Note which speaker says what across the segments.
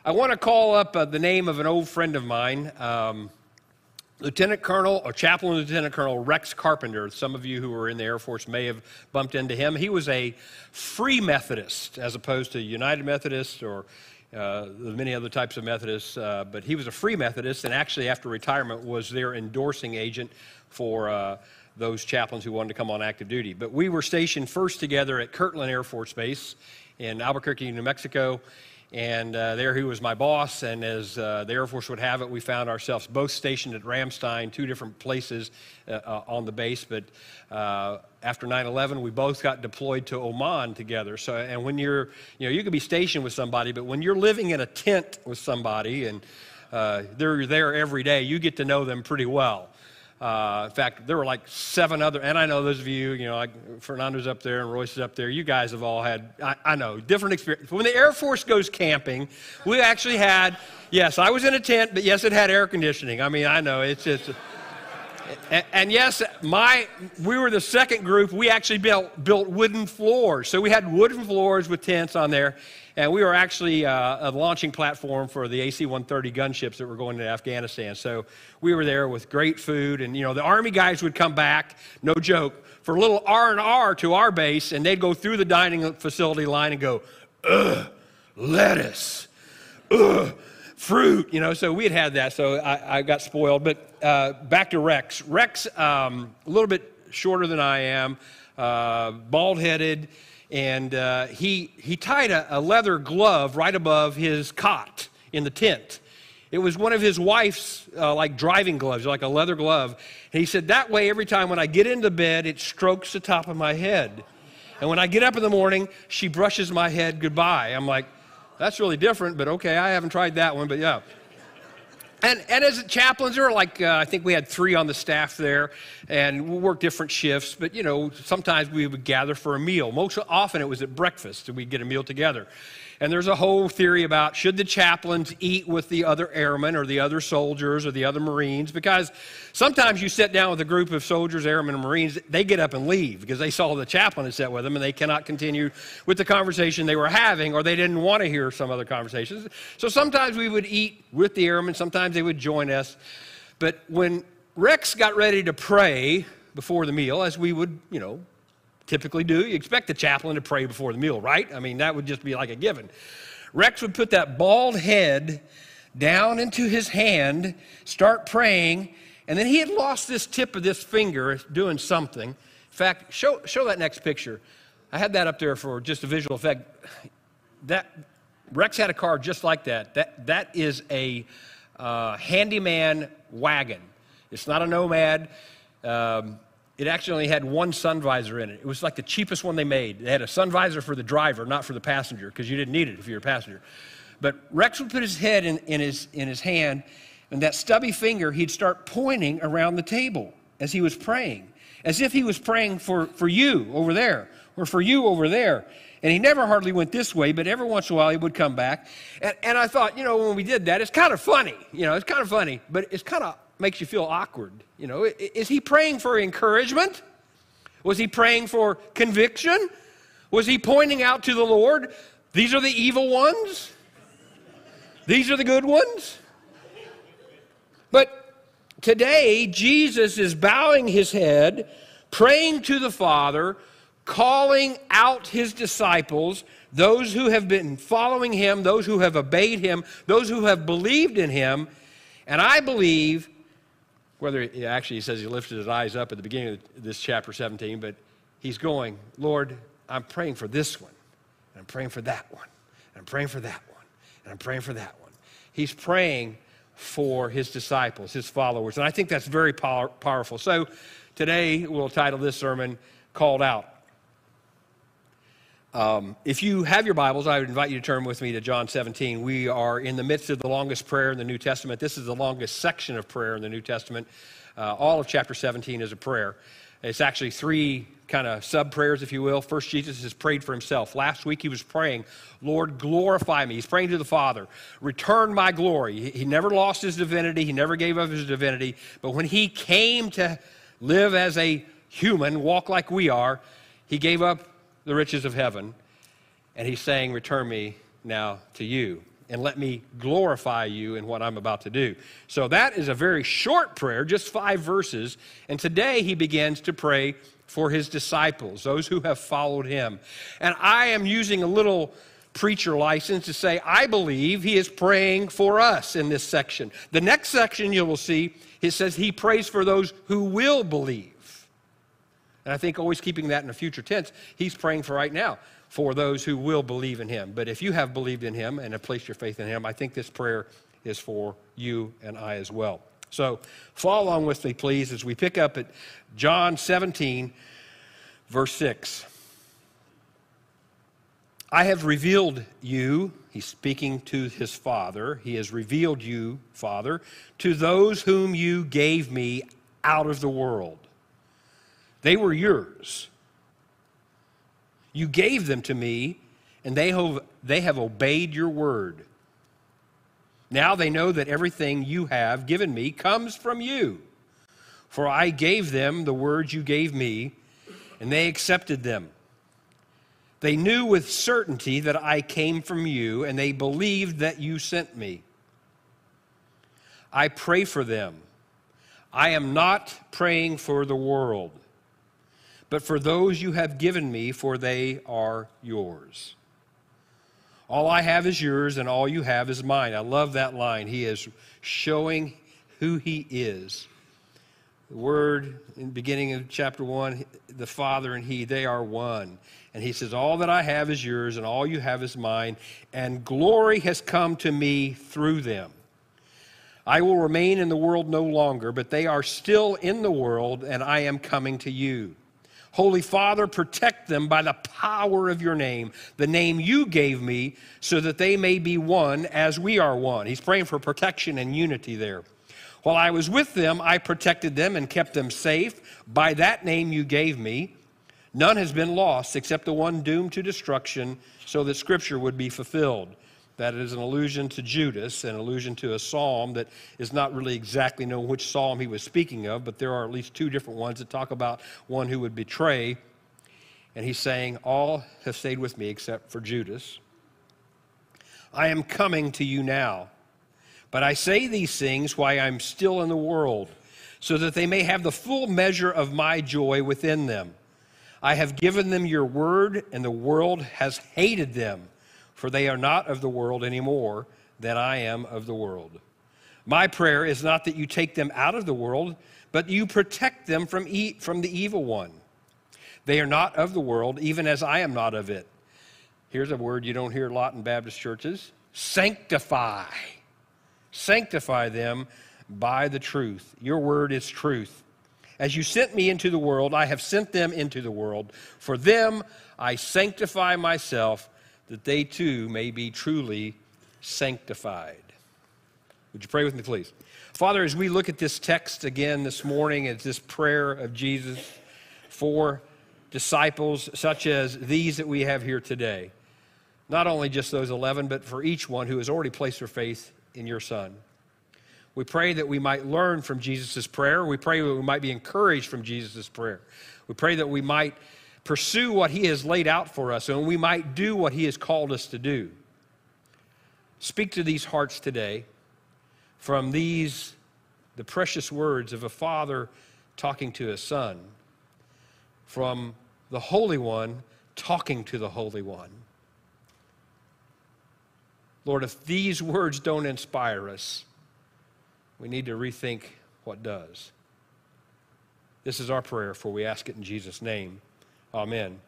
Speaker 1: I want to call up the name of an old friend of mine, Lieutenant Colonel or Chaplain Lieutenant Colonel Rex Carpenter. Some of you who were in the Air Force may have bumped into him. He was a Free Methodist as opposed to United Methodist or many other types of Methodists, but he was a Free Methodist, and actually after retirement was their endorsing agent for those chaplains who wanted to come on active duty. But we were stationed first together at Kirtland Air Force Base in Albuquerque, New Mexico, and there he was my boss, and as the Air Force would have it, we found ourselves both stationed at Ramstein, two different places on the base, but after 9/11, we both got deployed to Oman together. So, and when you're, you could be stationed with somebody, but when you're living in a tent with somebody and they're there every day, you get to know them pretty well. In fact, there were like 7 other, and I know those of you, like Fernando's up there and Royce is up there, you guys have all had, I know, different experience. When the Air Force goes camping, we actually had, yes, I was in a tent, but yes, it had air conditioning. I mean, I know, it's just, and yes, we were the second group, we actually built wooden floors. So we had wooden floors with tents on there, and we were actually a launching platform for the AC-130 gunships that were going to Afghanistan. So we were there with great food, and the Army guys would come back, no joke, for a little R&R to our base, and they'd go through the dining facility line and go, ugh, lettuce, ugh, fruit, so we had that, so I got spoiled. But back to Rex. Rex, a little bit shorter than I am, bald-headed, and he tied a leather glove right above his cot in the tent. It was one of his wife's like driving gloves, like a leather glove. And he said, that way every time when I get into bed, it strokes the top of my head. And when I get up in the morning, she brushes my head goodbye. I'm like, that's really different, but okay, I haven't tried that one, but yeah. And as chaplains, there were like, I think we had 3 on the staff there, and we worked different shifts, but sometimes we would gather for a meal. Most often it was at breakfast, and we'd get a meal together. And there's a whole theory about should the chaplains eat with the other airmen or the other soldiers or the other Marines, because sometimes you sit down with a group of soldiers, airmen, and Marines, they get up and leave because they saw the chaplain had sat with them and they cannot continue with the conversation they were having, or they didn't want to hear some other conversations. So sometimes we would eat with the airmen, sometimes they would join us. But when Rex got ready to pray before the meal, as we would, typically do, you expect the chaplain to pray before the meal, right? I mean, that would just be like a given. Rex would put that bald head down into his hand, start praying, and then he had lost this tip of this finger doing something. In fact, show that next picture. I had that up there for just a visual effect. Rex had a car just like that. That is a handyman wagon. It's not a Nomad. It actually only had one sun visor in it. It was like the cheapest one they made. They had a sun visor for the driver, not for the passenger, because you didn't need it if you're a passenger. But Rex would put his head in his hand, and that stubby finger, he'd start pointing around the table as he was praying, as if he was praying for you over there, or for you over there. And he never hardly went this way, but every once in a while he would come back. And I thought, when we did that, it's kind of funny. It's kind of funny, but it's kind of makes you feel awkward. Is he praying for encouragement? Was he praying for conviction? Was he pointing out to the Lord, these are the evil ones? These are the good ones? But today, Jesus is bowing his head, praying to the Father, calling out his disciples, those who have been following him, those who have obeyed him, those who have believed in him. And I believe, he says he lifted his eyes up at the beginning of this chapter 17, but he's going, Lord, I'm praying for this one, and I'm praying for that one, and I'm praying for that one, and I'm praying for that one. He's praying for his disciples, his followers, and I think that's very powerful. So today we'll title this sermon, Called Out. If you have your Bibles, I would invite you to turn with me to John 17. We are in the midst of the longest prayer in the New Testament. This is the longest section of prayer in the New Testament. All of chapter 17 is a prayer. It's actually 3 kind of sub-prayers, if you will. First, Jesus has prayed for himself. Last week, he was praying, Lord, glorify me. He's praying to the Father, return my glory. He never lost his divinity. He never gave up his divinity. But when he came to live as a human, walk like we are, he gave up the riches of heaven, and he's saying, return me now to you. and let me glorify you in what I'm about to do. So that is a very short prayer, just 5 verses. And today he begins to pray for his disciples, those who have followed him. And I am using a little preacher license to say I believe he is praying for us in this section. The next section you will see, it says he prays for those who will believe. And I think always keeping that in a future tense, he's praying for right now, for those who will believe in him. But if you have believed in him and have placed your faith in him, I think this prayer is for you and I as well. So follow along with me, please, as we pick up at John 17, verse 6. I have revealed you, he's speaking to his Father, he has revealed you, Father, to those whom you gave me out of the world. They were yours. You gave them to me, and they have obeyed your word. Now they know that everything you have given me comes from you. For I gave them the words you gave me, and they accepted them. They knew with certainty that I came from you, and they believed that you sent me. I pray for them. I am not praying for the world, but for those you have given me, for they are yours. All I have is yours, and all you have is mine. I love that line. He is showing who he is. The word in the beginning of chapter 1, the Father and he, they are one. And he says, all that I have is yours, and all you have is mine, and glory has come to me through them. I will remain in the world no longer, but they are still in the world, and I am coming to you. Holy Father, protect them by the power of your name, the name you gave me, so that they may be one as we are one. He's praying for protection and unity there. While I was with them, I protected them and kept them safe by that name you gave me. None has been lost except the one doomed to destruction, so that Scripture would be fulfilled. That is an allusion to Judas, an allusion to a psalm that is not really exactly known which psalm he was speaking of, but there are at least 2 different ones that talk about one who would betray. And he's saying, all have stayed with me except for Judas. I am coming to you now, but I say these things while I'm still in the world, so that they may have the full measure of my joy within them. I have given them your word, and the world has hated them, for they are not of the world any more than I am of the world. My prayer is not that you take them out of the world, but you protect them from the evil one. They are not of the world, even as I am not of it. Here's a word you don't hear a lot in Baptist churches. Sanctify. Sanctify them by the truth. Your word is truth. As you sent me into the world, I have sent them into the world. For them I sanctify myself, that they too may be truly sanctified. Would you pray with me, please? Father, as we look at this text again this morning, at this prayer of Jesus for disciples such as these that we have here today, not only just those 11, but for each one who has already placed their faith in your Son. We pray that we might learn from Jesus' prayer. We pray that we might be encouraged from Jesus' prayer. We pray that we might pursue what he has laid out for us, and we might do what he has called us to do. Speak to these hearts today from the precious words of a father talking to a son, from the Holy One talking to the Holy One. Lord, if these words don't inspire us, we need to rethink what does. This is our prayer, for we ask it in Jesus' name. Amen.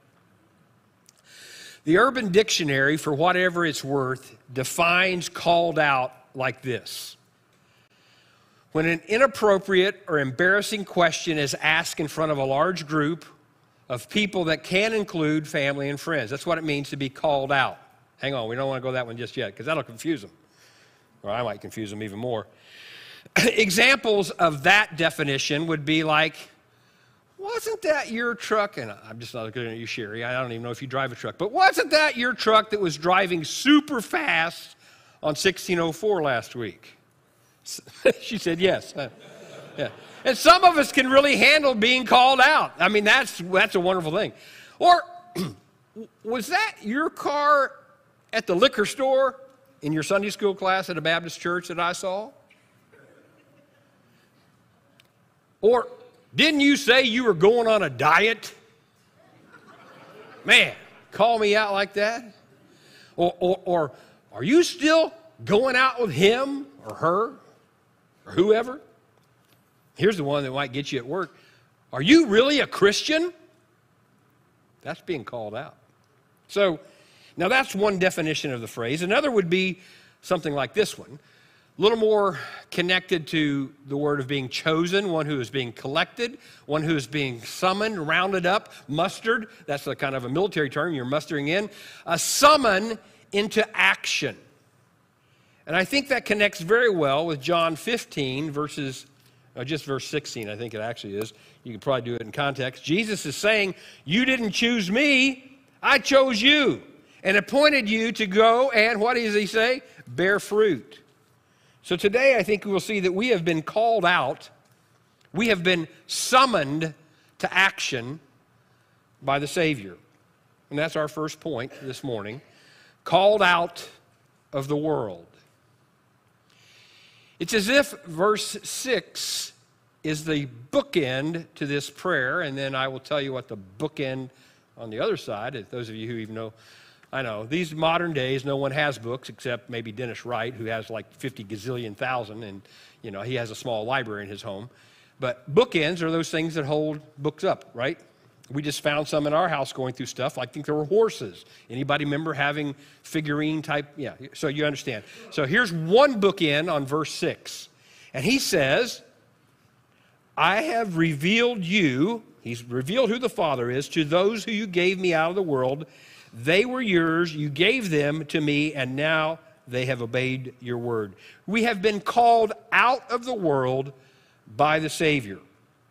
Speaker 1: The Urban Dictionary, for whatever it's worth, defines called out like this. When an inappropriate or embarrassing question is asked in front of a large group of people that can include family and friends. That's what it means to be called out. Hang on, we don't want to go that one just yet, because that'll confuse them. Or I might confuse them even more. Examples of that definition would be like, wasn't that your truck? And I'm just not looking at you, Sherry. I don't even know if you drive a truck. But wasn't that your truck that was driving super fast on 1604 last week? She said yes. Yeah. And some of us can really handle being called out. I mean, that's a wonderful thing. Or was that your car at the liquor store in your Sunday school class at a Baptist church that I saw? Or didn't you say you were going on a diet? Man, call me out like that? Or are you still going out with him or her or whoever? Here's the one that might get you at work. Are you really a Christian? That's being called out. So, now that's one definition of the phrase. Another would be something like this one. A little more connected to the word of being chosen, one who is being collected, one who is being summoned, rounded up, mustered. That's a kind of a military term you're mustering in. A summon into action. And I think that connects very well with John 15, just verse 16, I think it actually is. You could probably do it in context. Jesus is saying, you didn't choose me, I chose you and appointed you to go and, what does he say? Bear fruit. So today I think we will see that we have been called out, we have been summoned to action by the Savior. And that's our first point this morning. Called out of the world. It's as if verse 6 is the bookend to this prayer, and then I will tell you what the bookend on the other side, those of you who even know, I know, these modern days, no one has books except maybe Dennis Wright, who has like 50 gazillion thousand, and, you know, he has a small library in his home. But bookends are those things that hold books up, right? We just found some in our house going through stuff. I think there were horses. Anybody remember having figurine type? Yeah, so you understand. So here's one bookend on verse 6. And he says, I have revealed you, he's revealed who the Father is, to those who you gave me out of the world. They were yours, you gave them to me, and now they have obeyed your word. We have been called out of the world by the Savior,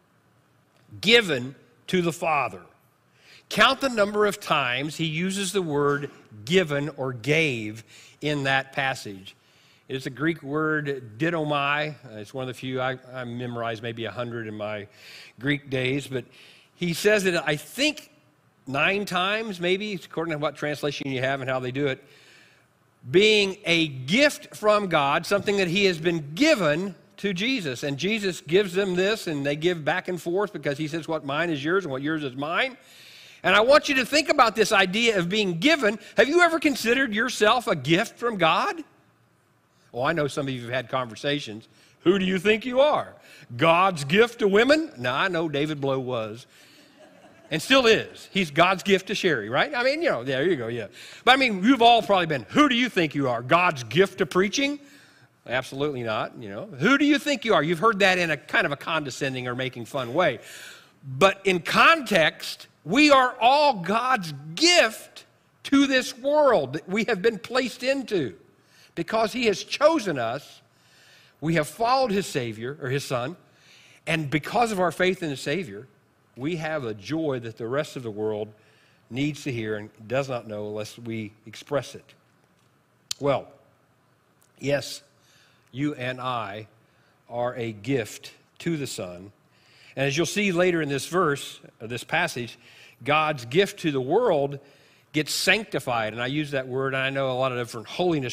Speaker 1: given to the Father. Count the number of times he uses the word given or gave in that passage. It's a Greek word, didomai. It's one of the few, I memorized maybe 100 in my Greek days, but he says it, I think, 9 times, maybe, according to what translation you have and how they do it, being a gift from God, something that he has been given to Jesus. And Jesus gives them this, and they give back and forth because he says what mine is yours and what yours is mine. And I want you to think about this idea of being given. Have you ever considered yourself a gift from God? Well, I know some of you have had conversations. Who do you think you are? God's gift to women? No, I know David Blow was. And still is. He's God's gift to Sherry, right? I mean, you know, there you go, yeah. But I mean, you've all probably been, who do you think you are? God's gift to preaching? Absolutely not, you know. Who do you think you are? You've heard that in a kind of a condescending or making fun way. But in context, we are all God's gift to this world that we have been placed into. Because he has chosen us, we have followed his Savior, or his Son, and because of our faith in the Savior, we have a joy that the rest of the world needs to hear and does not know unless we express it. Well, yes, you and I are a gift to the Son. And as you'll see later in this verse, this passage, God's gift to the world gets sanctified. And I use that word, and I know a lot of different holiness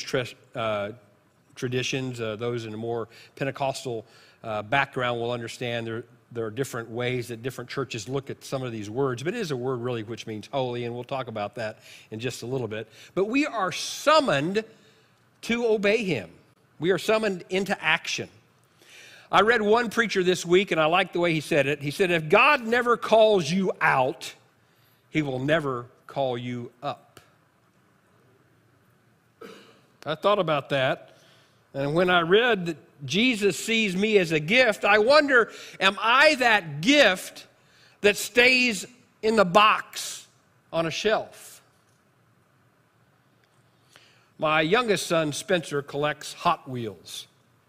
Speaker 1: traditions, those in a more Pentecostal background will understand there are different ways that different churches look at some of these words, but it is a word really which means holy, and we'll talk about that in just a little bit. But we are summoned to obey him. We are summoned into action. I read one preacher this week, and I like the way he said it. He said, if God never calls you out, he will never call you up. I thought about that, and when I read that Jesus sees me as a gift, I wonder, am I that gift that stays in the box on a shelf? My youngest son, Spencer, collects Hot Wheels.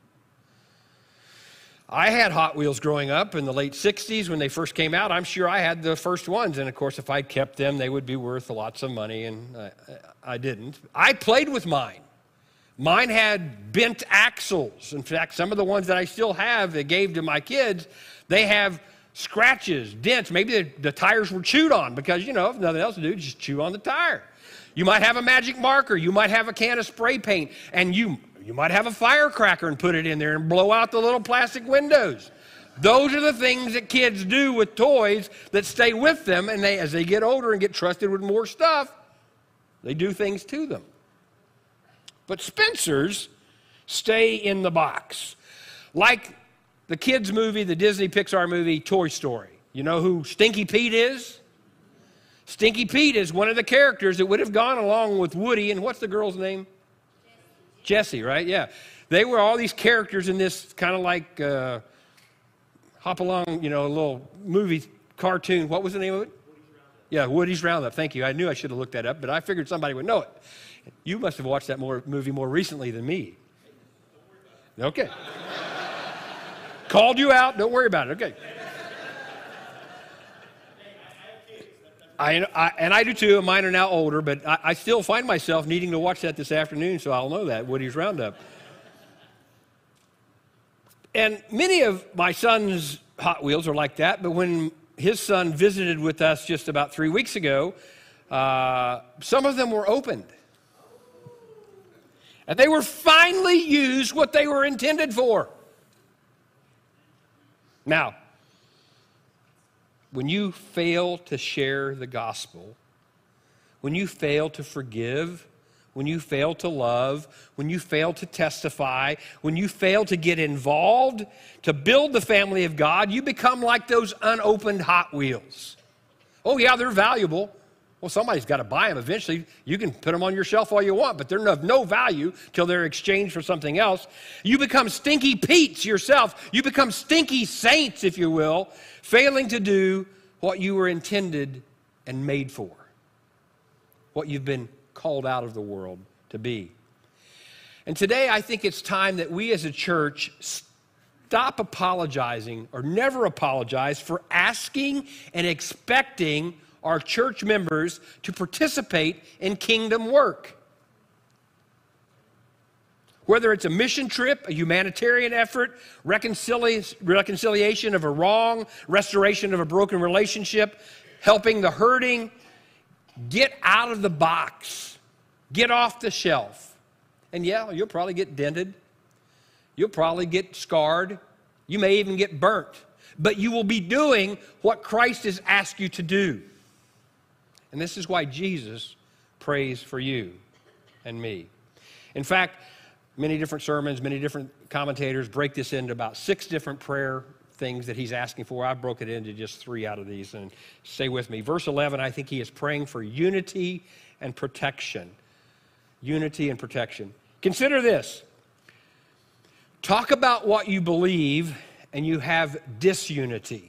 Speaker 1: I had Hot Wheels growing up in the late 60s when they first came out. I'm sure I had the first ones, and of course, if I'd kept them, they would be worth lots of money, and I didn't. I played with mine. Mine had bent axles. In fact, some of the ones that I still have that gave to my kids, they have scratches, dents. Maybe the tires were chewed on because, you know, if nothing else to do, just chew on the tire. You might have a magic marker. You might have a can of spray paint. And you might have a firecracker and put it in there and blow out the little plastic windows. Those are the things that kids do with toys that stay with them. And as they get older and get trusted with more stuff, they do things to them. But Spencer's stay in the box. Like the kids' movie, the Disney Pixar movie, Toy Story. You know who Stinky Pete is? Stinky Pete is one of the characters that would have gone along with Woody. And what's the girl's name? Jessie, right? Yeah. They were all these characters in this kind of like hop along, you know, a little movie cartoon. What was the name of it? Yeah, Woody's Roundup. Thank you. I knew I should have looked that up, but I figured somebody would know it. You must have watched that movie more recently than me. Okay. Called you out. Don't worry about it. Okay. And I do too. Mine are now older, but I still find myself needing to watch that this afternoon, so I'll know that, Woody's Roundup. And many of my son's Hot Wheels are like that, but when his son visited with us just about 3 weeks ago, some of them were opened. And they were finally used what they were intended for. Now, when you fail to share the gospel, when you fail to forgive, when you fail to love, when you fail to testify, when you fail to get involved, to build the family of God, you become like those unopened Hot Wheels. Oh yeah, they're valuable. Well, somebody's got to buy them eventually. You can put them on your shelf all you want, but they're of no value till they're exchanged for something else. You become Stinky Pete's yourself. You become stinky saints, if you will, failing to do what you were intended and made for, what you've been called out of the world to be. And today I think it's time that we as a church stop apologizing or never apologize for asking and expecting our church members to participate in kingdom work. Whether it's a mission trip, a humanitarian effort, reconciliation of a wrong, restoration of a broken relationship, helping the hurting, get out of the box. Get off the shelf. And yeah, you'll probably get dented. You'll probably get scarred. You may even get burnt. But you will be doing what Christ has asked you to do. And this is why Jesus prays for you and me. In fact, many different sermons, many different commentators break this into about 6 different prayer things that he's asking for. I broke it into just 3 out of these, and stay with me. Verse 11, I think he is praying for unity and protection. Unity and protection. Consider this. Talk about what you believe and you have disunity.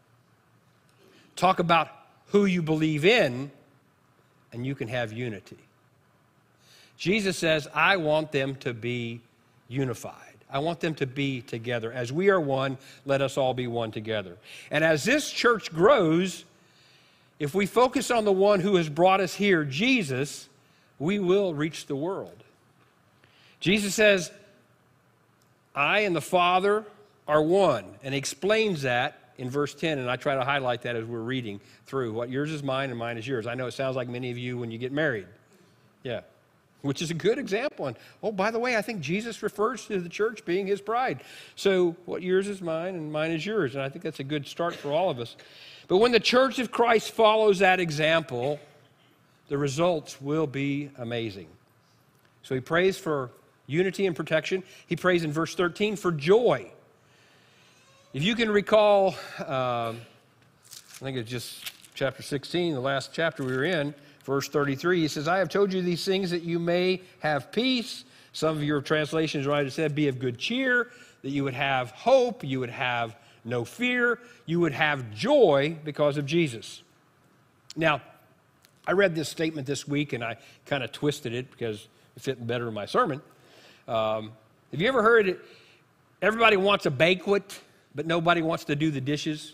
Speaker 1: Talk about who you believe in and you can have unity. Jesus says, I want them to be unified. I want them to be together. As we are one, let us all be one together. And as this church grows, if we focus on the one who has brought us here, Jesus, we will reach the world. Jesus says, I and the Father are one, and he explains that in verse 10, and I try to highlight that as we're reading through. What yours is mine and mine is yours. I know it sounds like many of you when you get married. Yeah. Which is a good example. And, oh, by the way, I think Jesus refers to the church being his bride. So what yours is mine and mine is yours. And I think that's a good start for all of us. But when the church of Christ follows that example, the results will be amazing. So he prays for unity and protection. He prays in verse 13 for joy. If you can recall, I think it's just chapter 16, the last chapter we were in, verse 33, he says, I have told you these things that you may have peace. Some of your translations might have said, be of good cheer, that you would have hope, you would have no fear, you would have joy because of Jesus. Now, I read this statement this week, and I kind of twisted it because it fit better in my sermon. Have you ever heard it? Everybody wants a banquet, but nobody wants to do the dishes.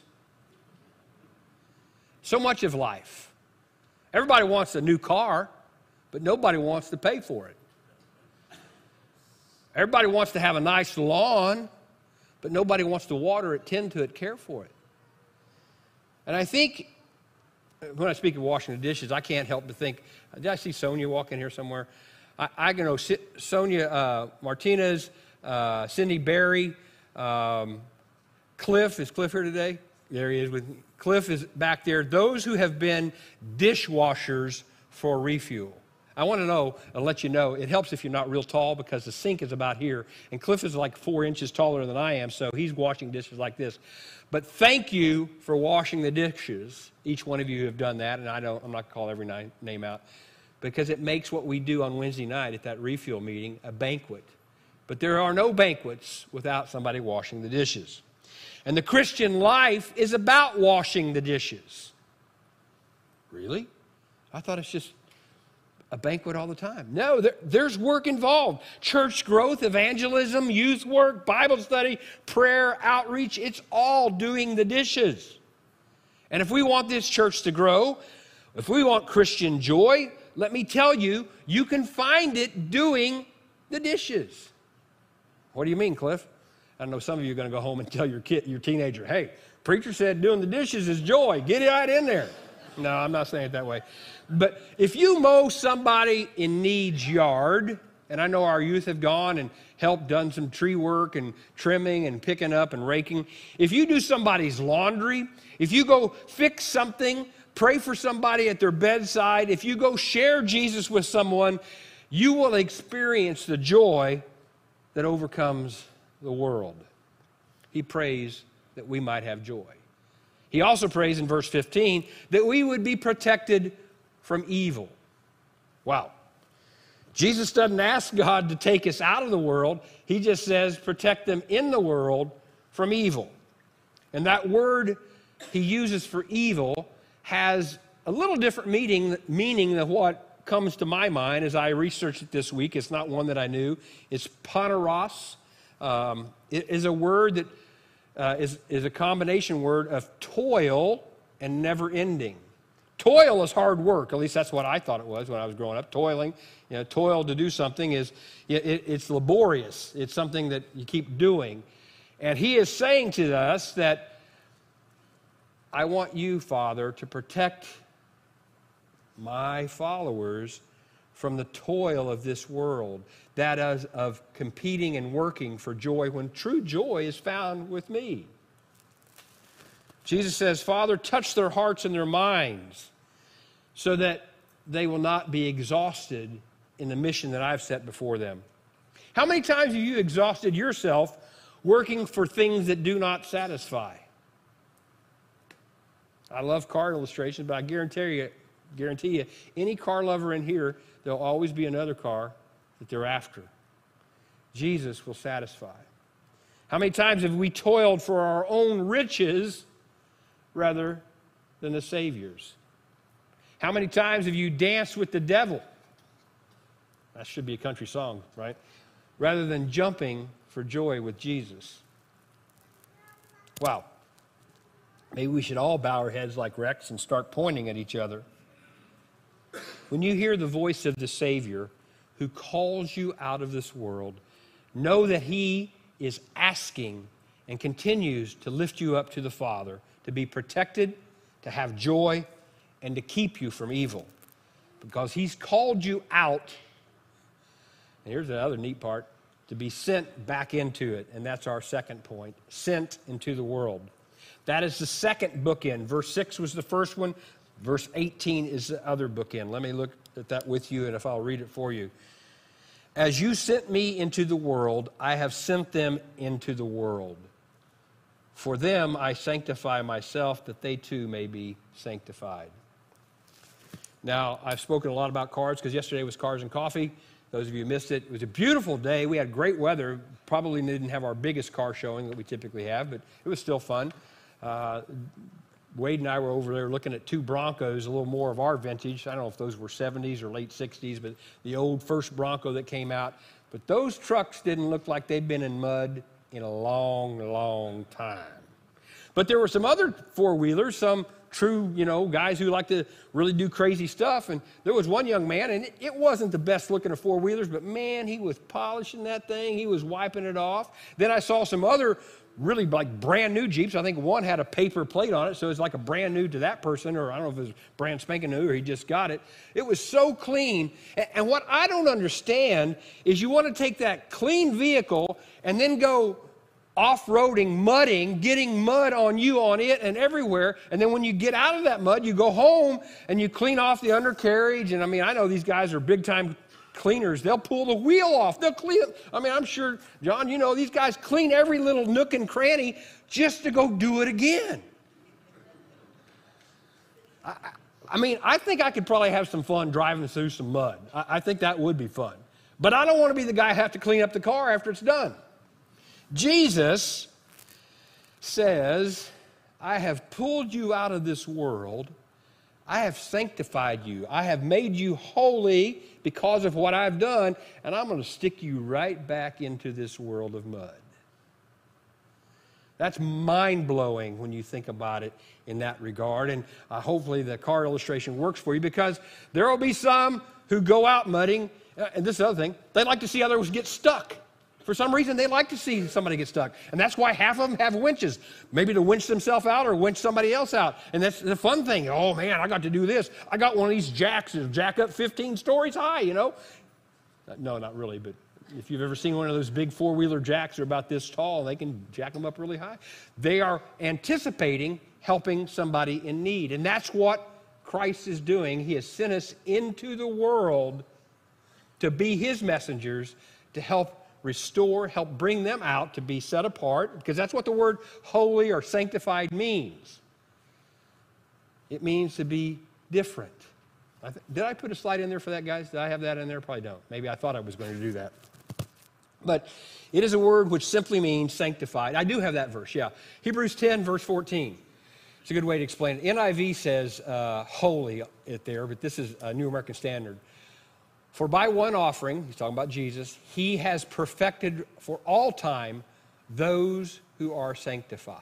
Speaker 1: So much of life. Everybody wants a new car, but nobody wants to pay for it. Everybody wants to have a nice lawn, but nobody wants to water it, tend to it, care for it. And I think when I speak of washing the dishes, I can't help but think, did I see Sonia walk in here somewhere? I can know Sonia Martinez, Cindy Berry, Cliff. Is Cliff here today? There he is. Cliff is back there. Those who have been dishwashers for Refuel. I want to know, I'll let you know, it helps if you're not real tall because the sink is about here. And Cliff is like 4 inches taller than I am, so he's washing dishes like this. But thank you for washing the dishes. Each one of you have done that, and I'm not going to call every name out, because it makes what we do on Wednesday night at that Refuel meeting a banquet. But there are no banquets without somebody washing the dishes. And the Christian life is about washing the dishes. Really? I thought it's just a banquet all the time. No, there's work involved. Church growth, evangelism, youth work, Bible study, prayer, outreach, it's all doing the dishes. And if we want this church to grow, if we want Christian joy, let me tell you, you can find it doing the dishes. What do you mean, Cliff? I know some of you are going to go home and tell your teenager, hey, preacher said doing the dishes is joy. Get it right in there. No, I'm not saying it that way. But if you mow somebody in need's yard, and I know our youth have gone and helped done some tree work and trimming and picking up and raking. If you do somebody's laundry, if you go fix something, pray for somebody at their bedside, if you go share Jesus with someone, you will experience the joy that overcomes the world. He prays that we might have joy. He also prays in verse 15 that we would be protected from evil. Wow. Jesus doesn't ask God to take us out of the world. He just says protect them in the world from evil. And that word he uses for evil has a little different meaning than what comes to my mind as I researched it this week. It's not one that I knew. It's poneros. It is a word that is a combination word of toil and never ending. Toil is hard work. At least that's what I thought it was when I was growing up. Toiling, toil to do something it's laborious. It's something that you keep doing. And he is saying to us that I want you, Father, to protect my followers from the toil of this world, that is of competing and working for joy when true joy is found with me. Jesus says, Father, touch their hearts and their minds so that they will not be exhausted in the mission that I've set before them. How many times have you exhausted yourself working for things that do not satisfy? I love car illustrations, but I guarantee you, any car lover in here, there'll always be another car that they're after. Jesus will satisfy. How many times have we toiled for our own riches rather than the Savior's? How many times have you danced with the devil? That should be a country song, right? Rather than jumping for joy with Jesus. Wow. Maybe we should all bow our heads like Rex and start pointing at each other. When you hear the voice of the Savior who calls you out of this world, know that he is asking and continues to lift you up to the Father, to be protected, to have joy, and to keep you from evil. Because he's called you out, and here's the other neat part, to be sent back into it. And that's our second point, sent into the world. That is the second bookend. Verse 6 was the first one. Verse 18 is the other bookend. Let me look at that with you, and if I'll read it for you. As you sent me into the world, I have sent them into the world. For them I sanctify myself, that they too may be sanctified. Now, I've spoken a lot about cars because yesterday was Cars and Coffee. Those of you who missed it, it was a beautiful day. We had great weather. Probably didn't have our biggest car showing that we typically have, but it was still fun. Wade and I were over there looking at two Broncos, a little more of our vintage. I don't know if those were 70s or late 60s, but the old first Bronco that came out. But those trucks didn't look like they'd been in mud in a long, long time. But there were some other four-wheelers, some true, guys who like to really do crazy stuff. And there was one young man, and it wasn't the best looking of four-wheelers, but man, he was polishing that thing. He was wiping it off. Then I saw some other really like brand new Jeeps. I think one had a paper plate on it, so it's like a brand new to that person, or I don't know if it was brand spanking new or he just got it. It was so clean. And what I don't understand is you want to take that clean vehicle and then go off-roading, mudding, getting mud on you, on it, and everywhere. And then when you get out of that mud, you go home and you clean off the undercarriage. And I know these guys are big-time cleaners. They'll pull the wheel off. They'll clean it. I'm sure, John, these guys clean every little nook and cranny just to go do it again. I think I could probably have some fun driving through some mud. I think that would be fun. But I don't want to be the guy who have to clean up the car after it's done. Jesus says, I have pulled you out of this world. I have sanctified you. I have made you holy because of what I've done, and I'm going to stick you right back into this world of mud. That's mind-blowing when you think about it in that regard, and hopefully the car illustration works for you, because there will be some who go out mudding, and this is the other thing, they like to see others get stuck. For some reason, they like to see somebody get stuck. And that's why half of them have winches, maybe to winch themselves out or winch somebody else out. And that's the fun thing. Oh, man, I got to do this. I got one of these jacks that jack up 15 stories high, No, not really, but if you've ever seen one of those big four-wheeler jacks, they're about this tall. They can jack them up really high. They are anticipating helping somebody in need. And that's what Christ is doing. He has sent us into the world to be his messengers, to help restore, help bring them out to be set apart, because that's what the word holy or sanctified means. It means to be different. Did I put a slide in there for that, guys? Did I have that in there? Probably don't. Maybe I thought I was going to do that. But it is a word which simply means sanctified. I do have that verse, yeah. Hebrews 10, verse 14. It's a good way to explain it. NIV says holy it there, but this is a New American Standard. For by one offering, he's talking about Jesus, he has perfected for all time those who are sanctified.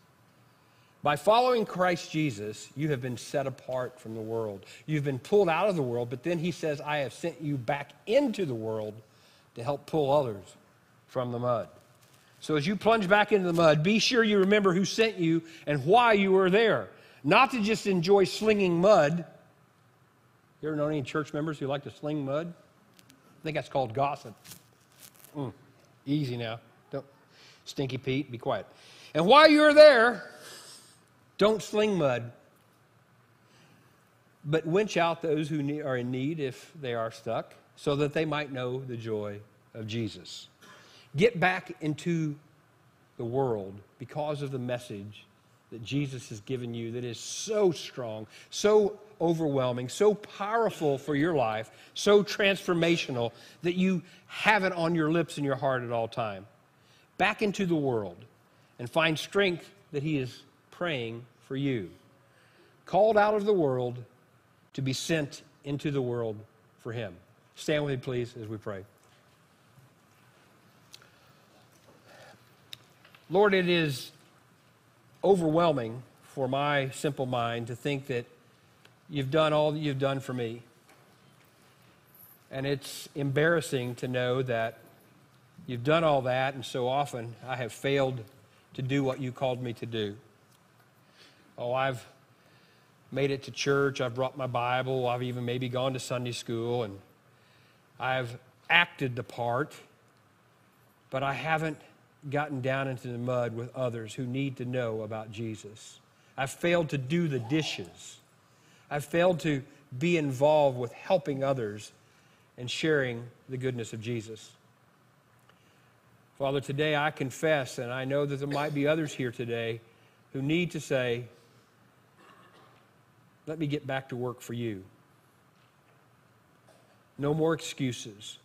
Speaker 1: By following Christ Jesus, you have been set apart from the world. You've been pulled out of the world, but then he says, I have sent you back into the world to help pull others from the mud. So as you plunge back into the mud, be sure you remember who sent you and why you were there. Not to just enjoy slinging mud. You ever know any church members who like to sling mud? I think that's called gossip. Easy now. Don't, Stinky Pete, be quiet. And while you're there, don't sling mud, but winch out those who are in need if they are stuck, so that they might know the joy of Jesus. Get back into the world because of the message that Jesus has given you that is so strong, so overwhelming, so powerful for your life, so transformational that you have it on your lips and your heart at all time. Back into the world and find strength that he is praying for you. Called out of the world to be sent into the world for him. Stand with me, please, as we pray. Lord, it is overwhelming for my simple mind to think that you've done all that you've done for me. And it's embarrassing to know that you've done all that, and so often I have failed to do what you called me to do. Oh, I've made it to church, I've brought my Bible, I've even maybe gone to Sunday school, and I've acted the part, but I haven't gotten down into the mud with others who need to know about Jesus. I've failed to do the dishes. I've failed to be involved with helping others and sharing the goodness of Jesus. Father, today I confess, and I know that there might be others here today who need to say, let me get back to work for you. No more excuses.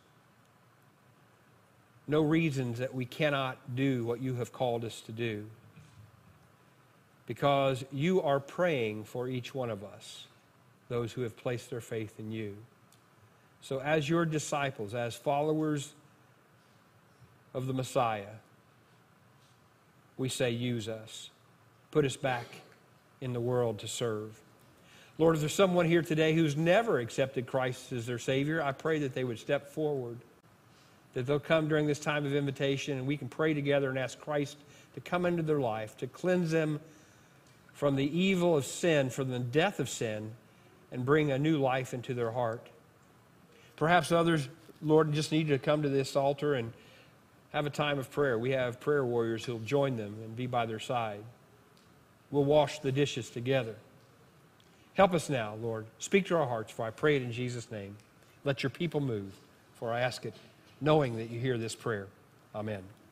Speaker 1: No reasons that we cannot do what you have called us to do. Because you are praying for each one of us, those who have placed their faith in you. So as your disciples, as followers of the Messiah, we say, use us. put us back in the world to serve. Lord, if there's someone here today who's never accepted Christ as their Savior, I pray that they would step forward, that they'll come during this time of invitation, and we can pray together and ask Christ to come into their life, to cleanse them from the evil of sin, from the death of sin, and bring a new life into their heart. Perhaps others, Lord, just need to come to this altar and have a time of prayer. We have prayer warriors who'll join them and be by their side. We'll wash the dishes together. Help us now, Lord. Speak to our hearts, for I pray it in Jesus' name. Let your people move, for I ask it knowing that you hear this prayer. Amen.